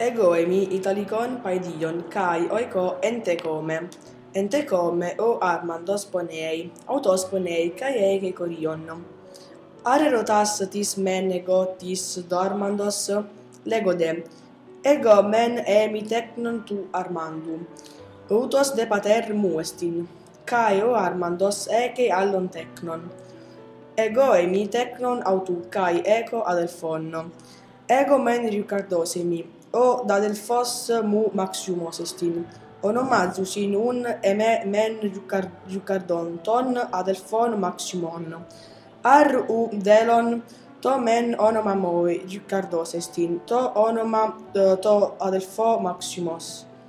Egoemi italicon paedion kai oiko entecome o armandos ponei, autos ponei kai ege corion. Arerotas tis men ego tis dormandos legode, ego men emi tecnon tu armandum, autos de pater muestin, kai o armandos ege allon tecnon. Ego emi tecnon autu kai ego adelfon, ego men riucardosemi, o da delfos mu maxiumos estin, onomazusin un eme men riucardon ton adelfon maximon, ar u delon to men onoma moi riucardos estin, to onoma to adelfo maximos.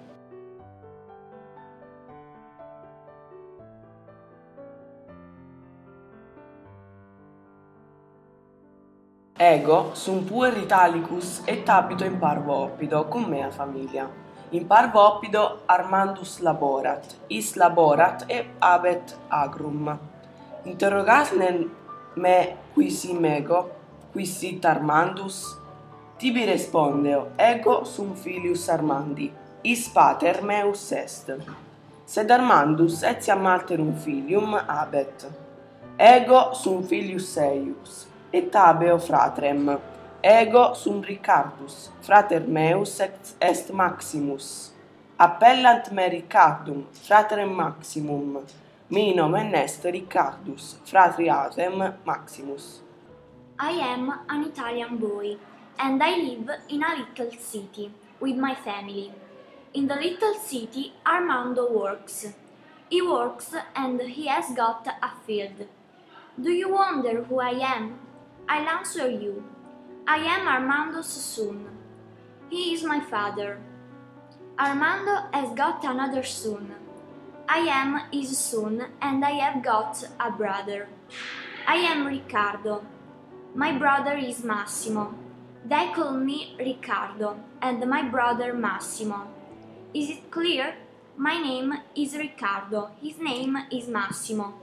Ego sum puer Italicus et habito in parvo oppido cum mea familia. In parvo oppido Armandus laborat, is laborat et habet agrum. Interrogasnen me qui sim ego, qui sit Armandus? Tibi respondeo, ego sum filius Armandi, is pater meus est. Sed Armandus etiam alterum filium habet. Ego sum filius eius, et habeo fratrem. Ego sum Ricardus, frater meus est Maximus. Appellant me Ricardum, fratrem Maximum. Mi nomen est Ricardus, fratriatem Maximus. I am an Italian boy, and I live in a little city with my family. In the little city, Armando works. He works and he has got a field. Do you wonder who I am? I'll answer you. I am Armando's son. He is my father. Armando has got another son. I am his son and I have got a brother. I am Riccardo. My brother is Massimo. They call me Riccardo and my brother Massimo. Is it clear? My name is Riccardo. His name is Massimo.